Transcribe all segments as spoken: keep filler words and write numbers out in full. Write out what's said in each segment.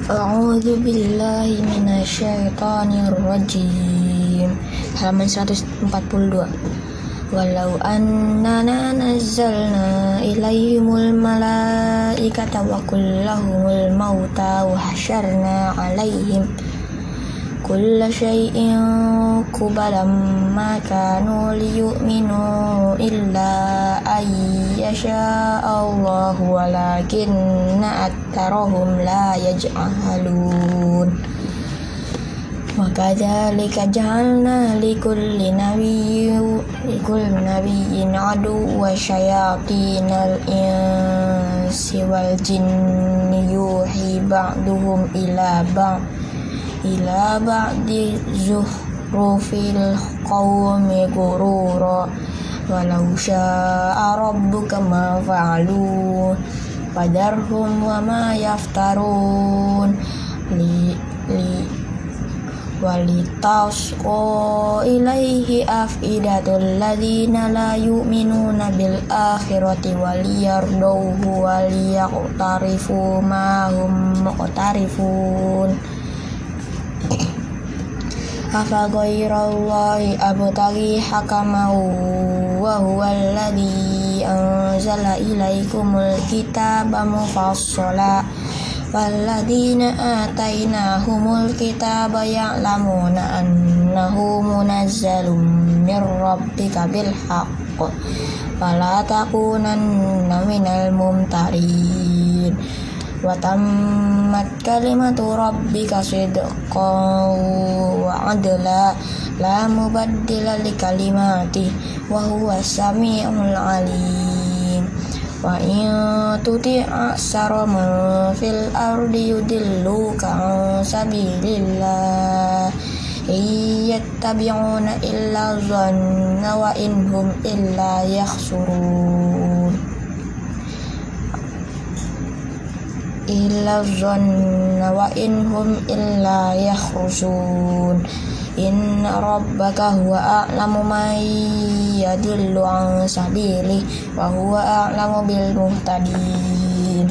A'udzu billahi minasyaitonir rajim. Halaman seratus empat puluh dua. Walau annana nazzalna ilaihimul malaikata wa kullahumul mauta wa hasyarna alaihim kulla syai'in qubalam ma kanu liyu'minu illa ayyasha Allahu walakinna aktsarahum la yaj'alun. Wa kadzalika ja'alna likulli nabiyyin likulli nabiyyin aduwwan syayatinal insi wal jinni yuhi ba'duhum ila ba'd ila ba'di zuhrufil qawmi ghurura walau syaa rabbuka ma fa'alu fadarhum wa ma yaftarun li li walitasqa ilaihi afidatul ladzina la yu'minuna bil akhirati waliyardauhu waliyaqtarifu ma hum muqtarifun. Afa ghairallahi abtaghi hakaman wa huwal ladzi anzala ilaikumul kitaba mufassala walladzina atainahumul kitaba ya'lamuna annahu munazzalun mir rabbika bil haqq fala takunanna minal mumtarin. Wa tammat kalimatu rabbika sidqan wa adla la mubaddila li kalimati wa huwa samiul alim. Wa in tuti' aksara man fil ardi yudilluka an sabilillah iyattabi'una illa dhanna wa inhum illa yakhsurun. Illa dhanna wa inhum illa yakhrusun. Inna rabbaka huwa a'lamu man yadillu an sabili wa huwa a'lamu bil muhtadin.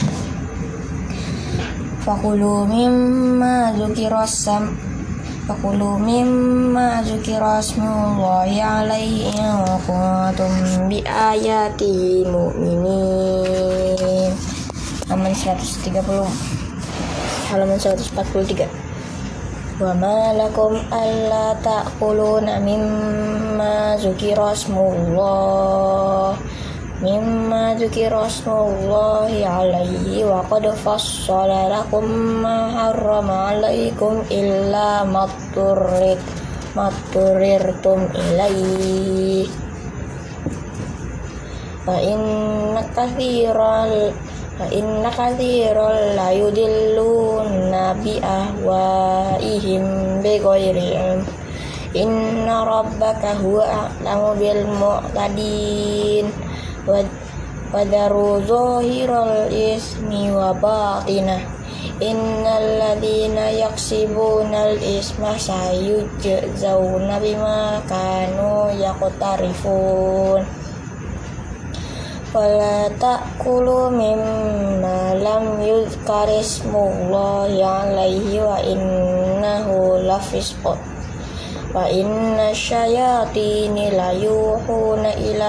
Fakulu mimma dzukira sam Fakulu mimma dzukira smullahi alaihi in kuntum bi ayati mu'minin. Halaman seratus tiga puluh. Halaman seratus empat puluh tiga. Wa ma lakum alla ta'kuluna mimma dzukira smullah mimma dzukira smullahi alaihi wa qad fassala lakum ma harrama alaikum illa matturrit matturirtum ilaihi wa inna katsiran Fa inna katsiran la yudilluna bi ahwaihim bighairi ilm. Inna rabbaka huwa a'lamu bil mu'tadin. Wa daru zahiral ismi wa batinah. Innal ladzina yaksibunal isma sayujzauna bima kanu yaqtarifun. Wala ta'kulu mimma lam yuzkar ismullahi alaihi wa innahu lafisq wa inna syayatini la yuhuna ila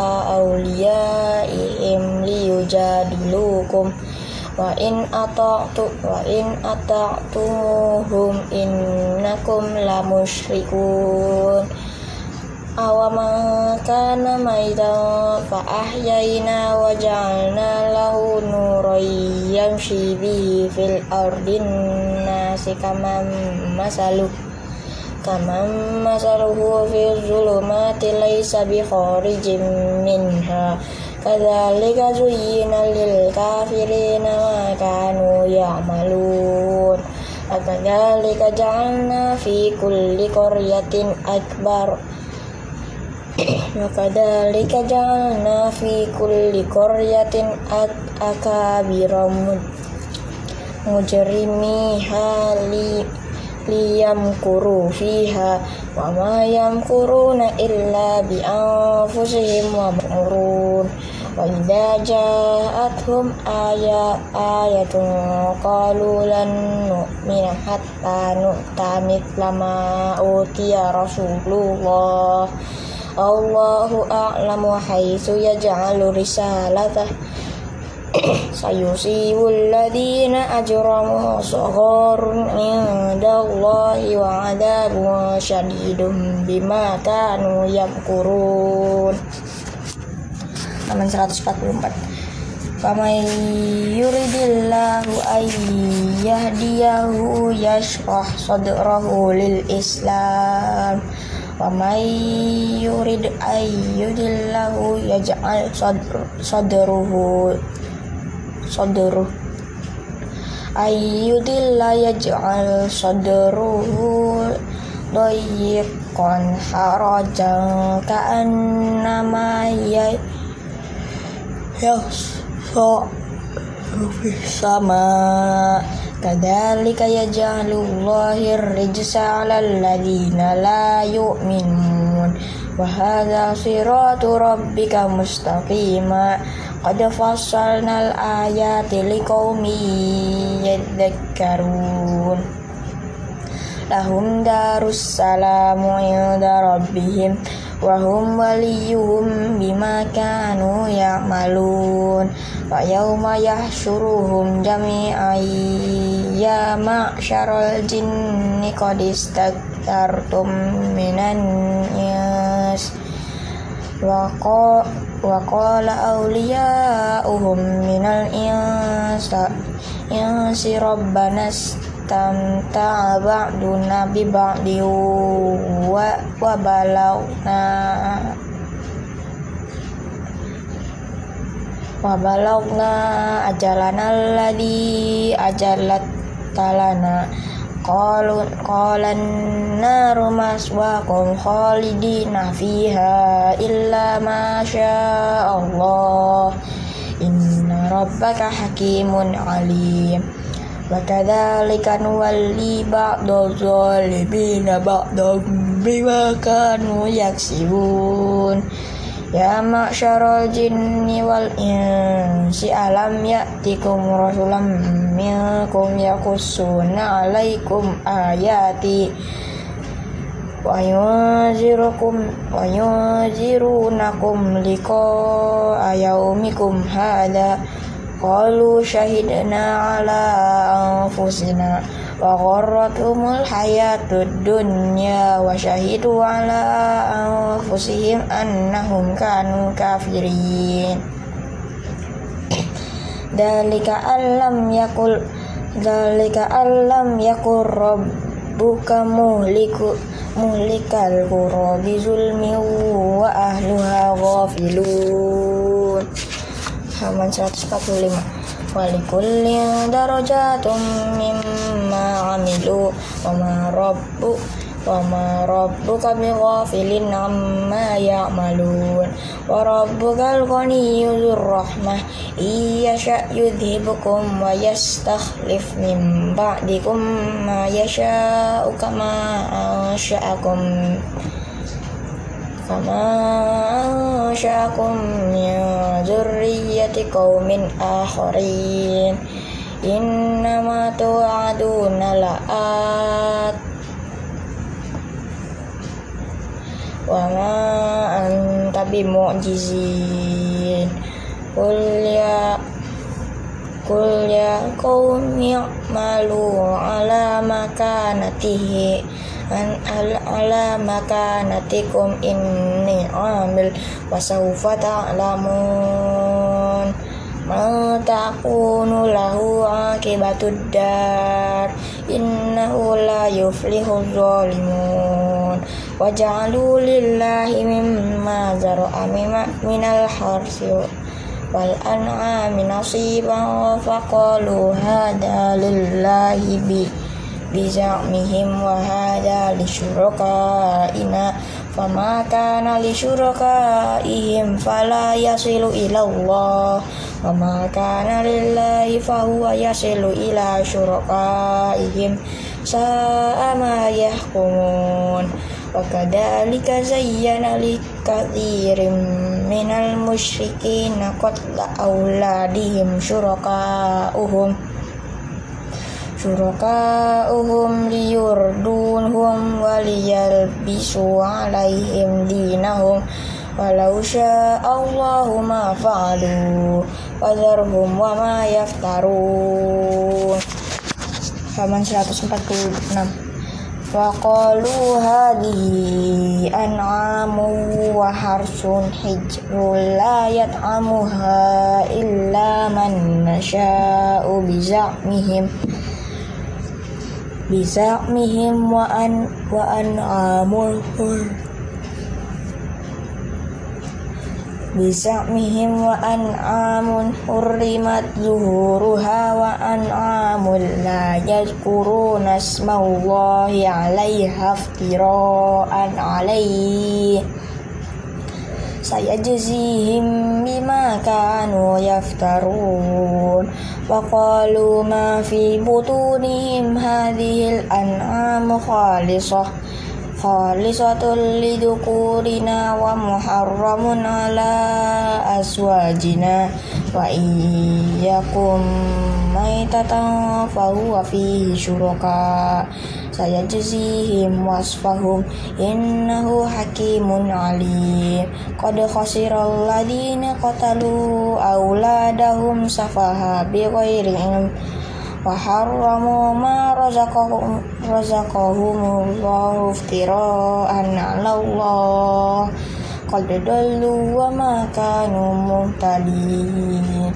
awliyaihim liyujadilukum wa in ata'tu wa in ata'tumuhum innakum la musyrikun. Awama kana maitan fa ahyayna wa ja'alna lahu nuran yamshi bihi fil ardin nasi kaman masalu kaman masaluhu fi zulumati laysa bi kharijin minha kadzalika zuyyina lil kafirina ma kanu ya'malun. Kadzalika ja'alna fi kulli qaryatin akbar wa kadzalika ja'alna fi kulli qaryatin akabira mujrimiha li liyamkuru fiha wa ma yamkuruna illa bi anfusihim wa murun wa idza ja'atuhum aya ayatun qalu lan nu'mina hatta nu'ta mithla ma utiya Rasulullah Allahu a'lamu haitsu yaj'alu risalatah sayusibul ladina ajramu sagharun indallahi wa adabun syadidun bima kanu yamkurun. Halaman seratus empat puluh empat. Faman yuridillahu ay yahdiyahu yashrah sadrahu lil Islam wa may yurid ay yudillahu yaj'al sadruhu sadruhu ay yudilla yaj'al sadruhu dayiqan harajan ka'annama ya so sama kadzalika yaj'alullahi ar-rijsa 'alal ladzina la yu'minun wa hadza siratu rabbika mustaqima qad fassalnal ayati liqaumin yadhakkarun lahum darus salamu 'inda rabbihim wa hum waliyuhum bima kanu ya'malun wa yawma yahsyuruhum jami'an ya ma'syaral jinni qad istaktartum minan ins wa qala awliya'uhum minal insa insi rabbana tamta'a ba'duna bi ba'di wa wa balagna wa balagna ajalana alladhi ajalat talana qalu qalan naru maswaqum khalidina fiha illa ma syaa Allah inna rabbaka hakimun alim wa kadzalika nuwalli ba'dadh zalimina ba'dhum bima kanu yaksibun ya ma'syaral jinni wal insi alam ya'tikum rasulam minkum yaqussuna 'alaikum ayati wa yunzirukum wa yunzirunakum liqa'a yaumikum hadza qalu syahidna ala anfusina wa gharratumul hayatud dunya wa syahidu ala anfusihim annahum kanu kafirin dalika allam yakul dalika allam yakul rabbuka muhliku muhlikal qura bizulmi wa ahluha ghafilun. Halaman seratus empat puluh lima. Walikullin darajatum mimma amilu wa ma rabbu wa ma rabbuka bighafilin amma ya'malun wa rabbukal ghaniyyur rahmah iyasha yudhibukum wa yastakhlif min ba'dikum ma yasha'u kama ansha'akum kama ansha'akum min dzurriyyati qaumin akharin innama tu'aduna la'at wa ma anta bimu'jizin qul ya qul ya qaumi i'malu ala makanatihi an ala makanatikum inni amil wa sawfa ta'lamun ma takunu lahu akibatud dar innahu la yuflihuz zalimun wa ja'alu lillahi mimma zara'a minal harsi wal an'ami nasiban wa faqalu hadha lillahi bi bizamihim wa hadha li syurakaina fama kana li syurakaihim fala yasilu ila Allah wa ma kana lillahi fa huwa yasilu ila syurakaihim sa'a ma yahkumun wa kadzalika zayyana li katsirin minal musyrikina qatla auladihim syuraka'uhum syuraka'uhum liyurdunhum waliyalbisu alaihim dinahum walau sya'allahu ma fa'alu fadharhum wa ma yaftarun. Halaman seratus empat puluh enam. Wa qalu hadhihi an'amu wa harsun hijrun la yat'amuha illa man nasha'u biza'mihim biza'mihim wa an wa an'amul biza'mihim wa an'amun hurrimat zuhuruha wa an'amul la yadhkuruna ismallahi 'alaiha iftira'an 'alaihi sayajzihim bima kanu yaftarun wa qalu ma fi butunihim hadhil an'amu khalisah khalisatul lidukurina wa muharramun ala aswajina wa iyyakum maitatan fahuwa fihi syuraka sayajzihim wasfahum innahu hakimun alim qad khasiral ladina qatalu auladahum safaha bighairi ilm wa harramu ma razaqahum razaqahumullahu iftira'an 'ala Allah qad dallu wa ma kanu muhtadin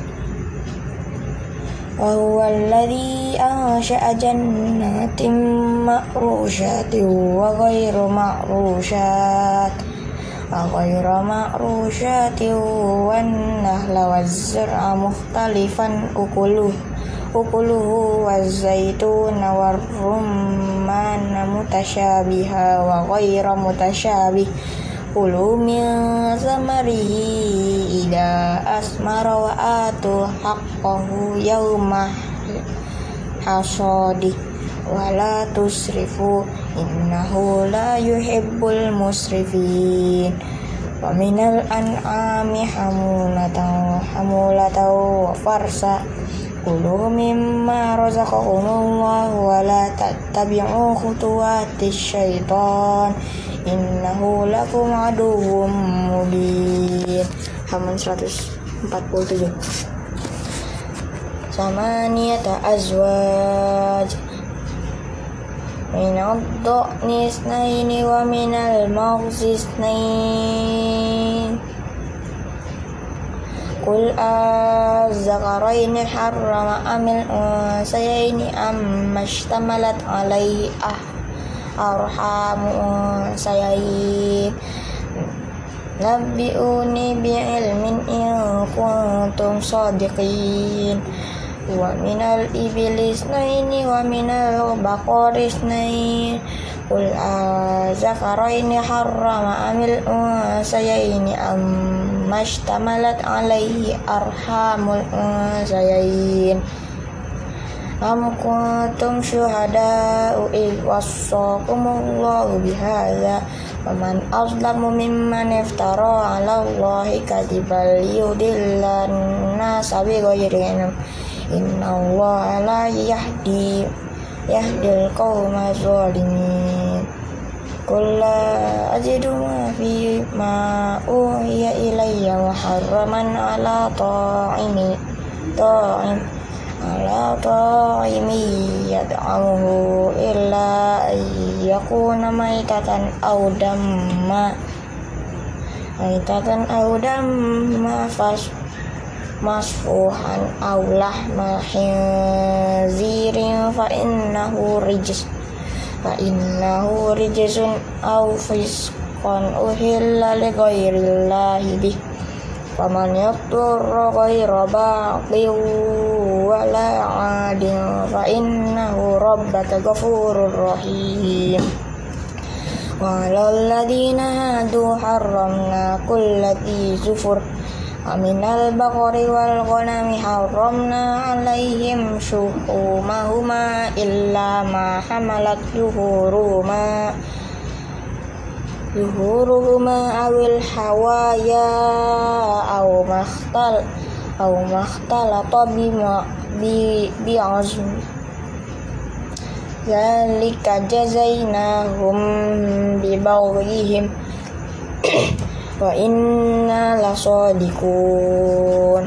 wa huwa alladhi ansha'a jannatin ma'rushatin wa ghayru ma'rushat wa ghayru ma'rushatin wan nahla waz-zar'a mukhtalifan ukuluh ukuluhu waz-zaituna war-rumman mutasyabiha wa ghayra mutasyabih kulu min samarihi ida asmara wa atu haqqahu yawma hasadi wa la tusrifu innahu la yuhibbul musrifin wa minal an'ami hamulatan hamulatan wa farsa kulu mimma razaqakumullahu wa la tattabi'u khutuwatis syaitan innahu lakum aduwwum mubin. Halaman seratus empat puluh tujuh. Samaniyata azwaj minad du'ni isnaini wa minal maghzi isnain Qul az-zakaraini harrama amil unsayaini amma ishtamalat alaihi ah arhamu unsayain nabbi'uni bi'ilmin in kuntum shadiqin wa minal iblis naini wa minal baqaris nain Qul az-zakaraini harrama amil unsayaini amma ishtamalat alaihi arhamul unsayain am kuntum syuhada'u idh wassaqumullahu bihadza faman azlamu mimman iftara 'ala Allahi kadiban liyudillan nasa bighairi ilm innallaha la yahdi yahdil qauma zalimin Qul la ajidu ma fi ma uhiya ilayya muharraman 'ala ta'imi ta'im ala ta'imi yad'amuhu illa ayyakuna maitatan aw damma maitatan aw damma fas masfuhan aw lahma khinzirin fa innahu rijs fa innahu rijsun aw fisqan uhilla li ghairillahi bih faman yaqturra ghaira baqin wala 'adin fa innahu rabbaka ghafurur rahim wa 'alal ladina hadu harramna kullati zufur aminal baqari wal ghanami harramna 'alaihim shuhumahuma illa ma hamalat zuhuruhuma zuhuruhuma awil hawaya aw makhtal aw makhtalata bima bi bi'azm zalika jazainahum bibaghihim wa inna lasadiqun.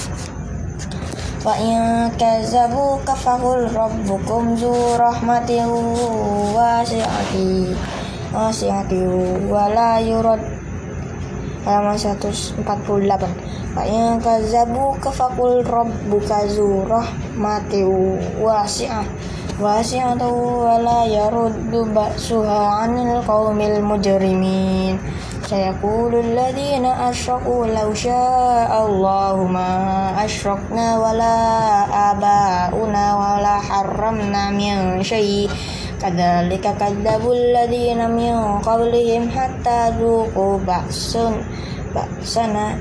Wa in kazzabuka faqul rabbukum zu rahmatin wasi'ati wasi'ati wa la yurad. Halaman seratus empat puluh delapan. Wa in kazzabuka faqul rabbuka zu rahmatin wasi'ah wasi'atu wa la yaruddu ba'suha 'anil qaumil mujrimin. Sayaqulul ladzina asyraku law syaa Allahu ma asyrakna wala abauna wala harramna min syai' kadzalika kadzdzabul ladzina min qablihim hatta dzuqu ba'sun ba'sana.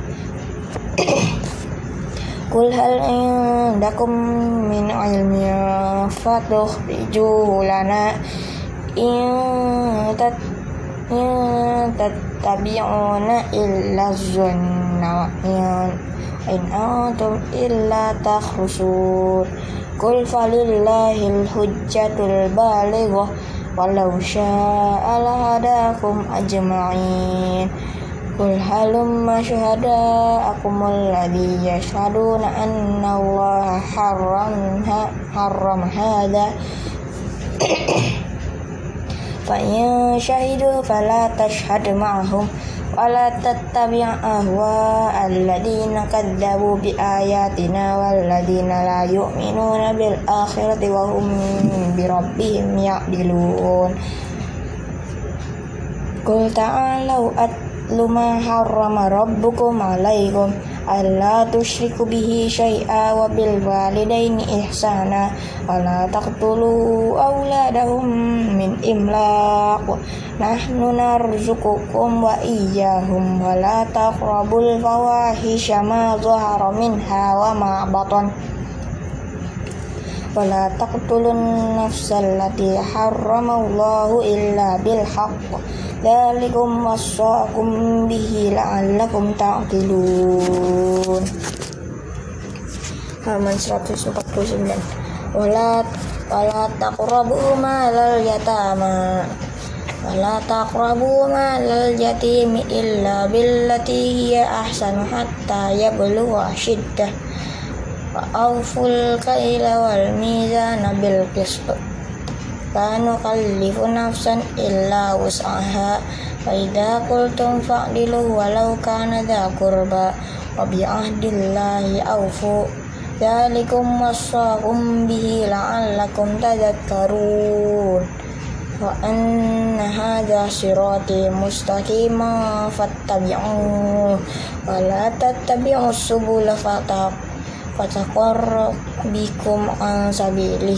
Qul hal indakum min ilmin fatukhrijuhu lana in tat in tattabi'una illa dhanna wa in antum illa takhrusun. Qul falillahil hujjatul balighah walau syaa lahadakum ajma'in. Qul halumma syuhada'akum alladzi yashhaduna anna Allaha harramha harram hadza fa in syahidu fala tashhad ma'ahum wala tattabi' ahwa alladzina kadzdzabu bi ayatina walladzina la yu'minuna bil akhirati wa hum bi rabbihim ya'dilun. Qul ta'alau atlu ma harrama rabbukum 'alaikum alla tusyriku bihi syai'a wa bil walidaini ihsana wa la taqtulu awladahum min imlaq nahnu narzuqukum wa iyyahum wa la taqrabul fawahisha ma dhahara minha wa ma batan wa la taqtulun nafsal lati harramallahu illa bil haqq dzalikum wassaqum bihi la'allakum ta'qilun. Halaman seratus empat puluh sembilan. Wala wala taqrabu malal yatama wala taqrabu malal yatimi illa billati hiya ahsanu hatta yablugha ashiddah wa awful kaila wal mizana bil qist la nukallifu nafsan illa wus'aha wa idza qultum fa'dilu walau kana dza qurba wa bi ahdillahi awfu dzalikum wassaqum bihi la'allakum tadhakkarun. Wa anna hadza sirati mustaqiman fattabi'uhu wa la tattabi'us subula fataqarrab bikum an sabilihi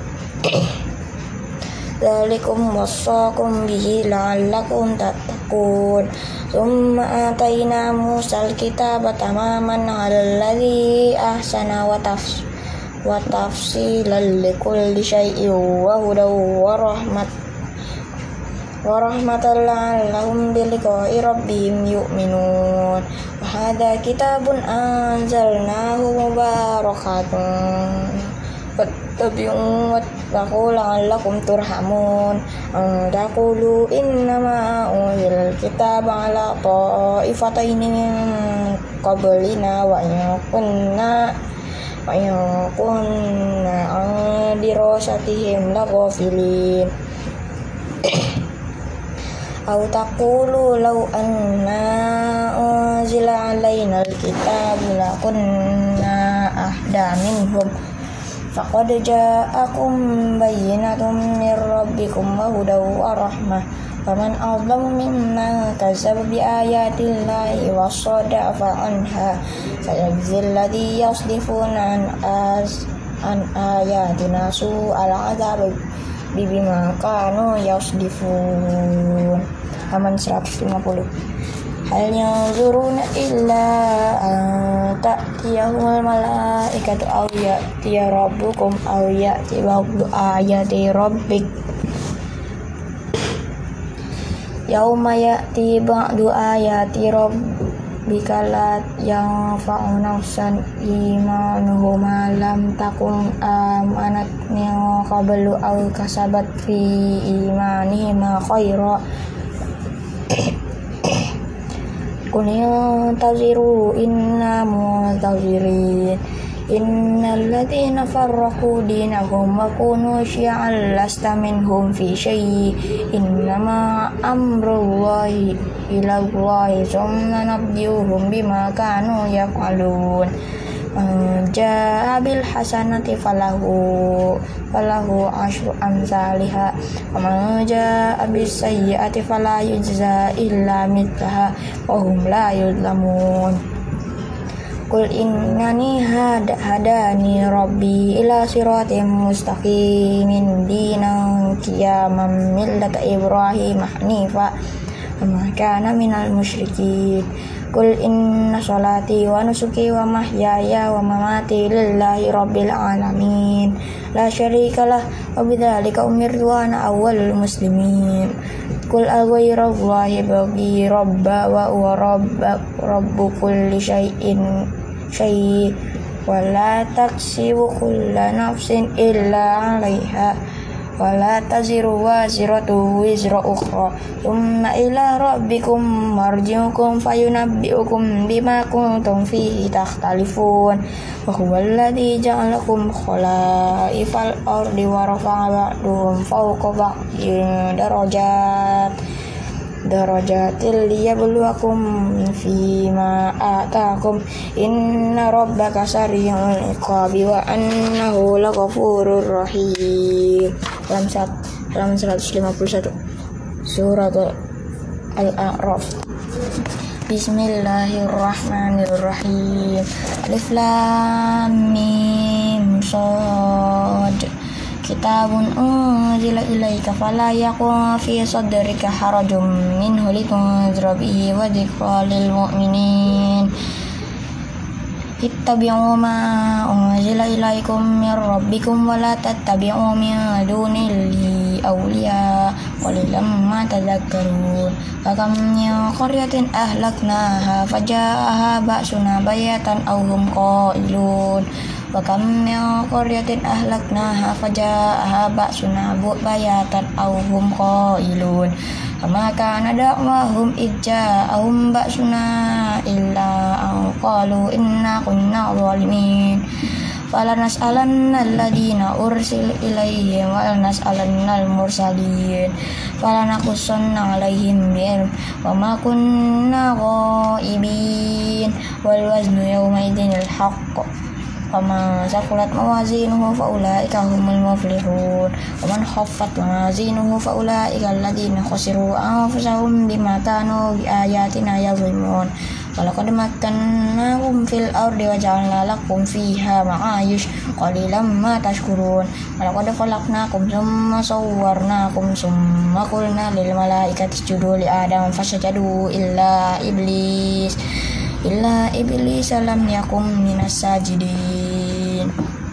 dzalikum wassaqum bihi la'allakum tattaqun. Tsumma atayna Musal kitaba tamaman 'alal ladzi ahsana wa tafs wa tafsilan likulli syai'in wa hudaw wa rahmat wa rahmatan la'allahum bi liqa'i rabbihim yu'minun. Wa hadza kitabun anzalnahu mubarakatun fattabi'uhu wattaqu la'allakum turhamun. An taqulu innama unzila al-kitaba 'ala ta'ifataini min qablina wa in kunna wa in kunna an dirasatihim laghafilin. Aw taqulu law anna unzila 'alaina al-kitabu lakunna ahda minhum faqad ja'akum bayyinatun min rabbikum wa hudaw wa rahmah faman adlamu mimman kazzaba bi ayatillahi wa sadafa anha sayajzil ladzi yasdifuna an az an ayatina su'al adzab bima kanu yasdifun. Halaman seratus lima puluh. Hal yanzuruna illa an ta'tiyahumul malaikatu aw ya'tiya rabbukum aw ya'ti ba'du ayati rabbik yauma ya'ti ba'du ayati rabbika la yanfa'u nafsan imanuhuma lam takun amanat min qablu aw kasabat fi imanihima khaira qul yantaziru inna muntazirin innal ladzina farraqu dinahum wa kunu syi'an lasta minhum fi syai' innama amrullahi ilallahi tsumma nabbi'uhum bima kanu yaf'alun jaa bil hasanati falahu falahu asyru amsalihha wa man jaa bis sayyi'ati fala yujza illa mithlaha wa hum la yuzlamun. Qul innani hada hadani rabbi ila siratim mustaqimin dinan qiyaman millata ibrahim hanifa wa ma kana minal musyrikin. Qul inna sholati wa nusuki wa mahyaya wa mamati lillahi rabbil alamin la syarikalah wa bidzalika umirtu wa ana awwalul muslimin. Qul aghayrallahi baghi rabba wa huwa rabba rabbu kulli syai'in syai' wa la taksibu kullu nafsin illa 'alaiha wa la taziru waziratu wizra ukhra thumma ila rabbikum marji'ukum fayunabbi'ukum bima kuntum fihi takhtalifun wa huwal ladzi ja'alakum khalaifal ardi wa rafa'a ba'dahum fawqa ba'din darajat darajatil liyabluwakum fima ataakum inna rabbaka sari'ul iqabi wa annahu laghafurur rahim. Dalam surat dalam seratus lima puluh satu surat Al-A'raf. Bismillahirrahmanirrahim. Alif lam mim shad. Kitabun unzila ilaika fala yakun fi sadrika harajum minhu litunzira bihi wa dzikra lil mu'minin. Ittabi'u ma unzila ilaikum min rabbikum wa la tattabi'u min dunihi awliya qalilan ma tadhakkarun. Wa kam min qaryatin ahlaknaha faja'aha ba'suna bayatan aw hum qailun. Wa kam min qaryatin ahlaknaha faja'aha ba'suna bayatan aw hum qailun. Kama kana da'wahum idja'ahum ba'suna illa an qalu inna kunna zalimin. Falanas'alanna alladhina ursil ilaihim wa lanas'alanna al-mursalin falanakussanna alaihim bi'ilm wa ma kunna ghaibin wal waznu yawma idinil haqq. Faman saqulat mawazinuhu faulaika humul muflihun wa man khaffat mawazinuhu faulaika alladhina khasiru anfusahum bima kanu biayatina yazlimun. Walaqad makkannakum fil ardi wa ja'alna lakum fiha ma'ayish qalilan ma tashkurun. Walaqad khalaqnakum thumma sawwarnakum thumma qulna lil malaikati isjudu li adam fasajadu illa iblis illa iblis lam yakum minas sajidin.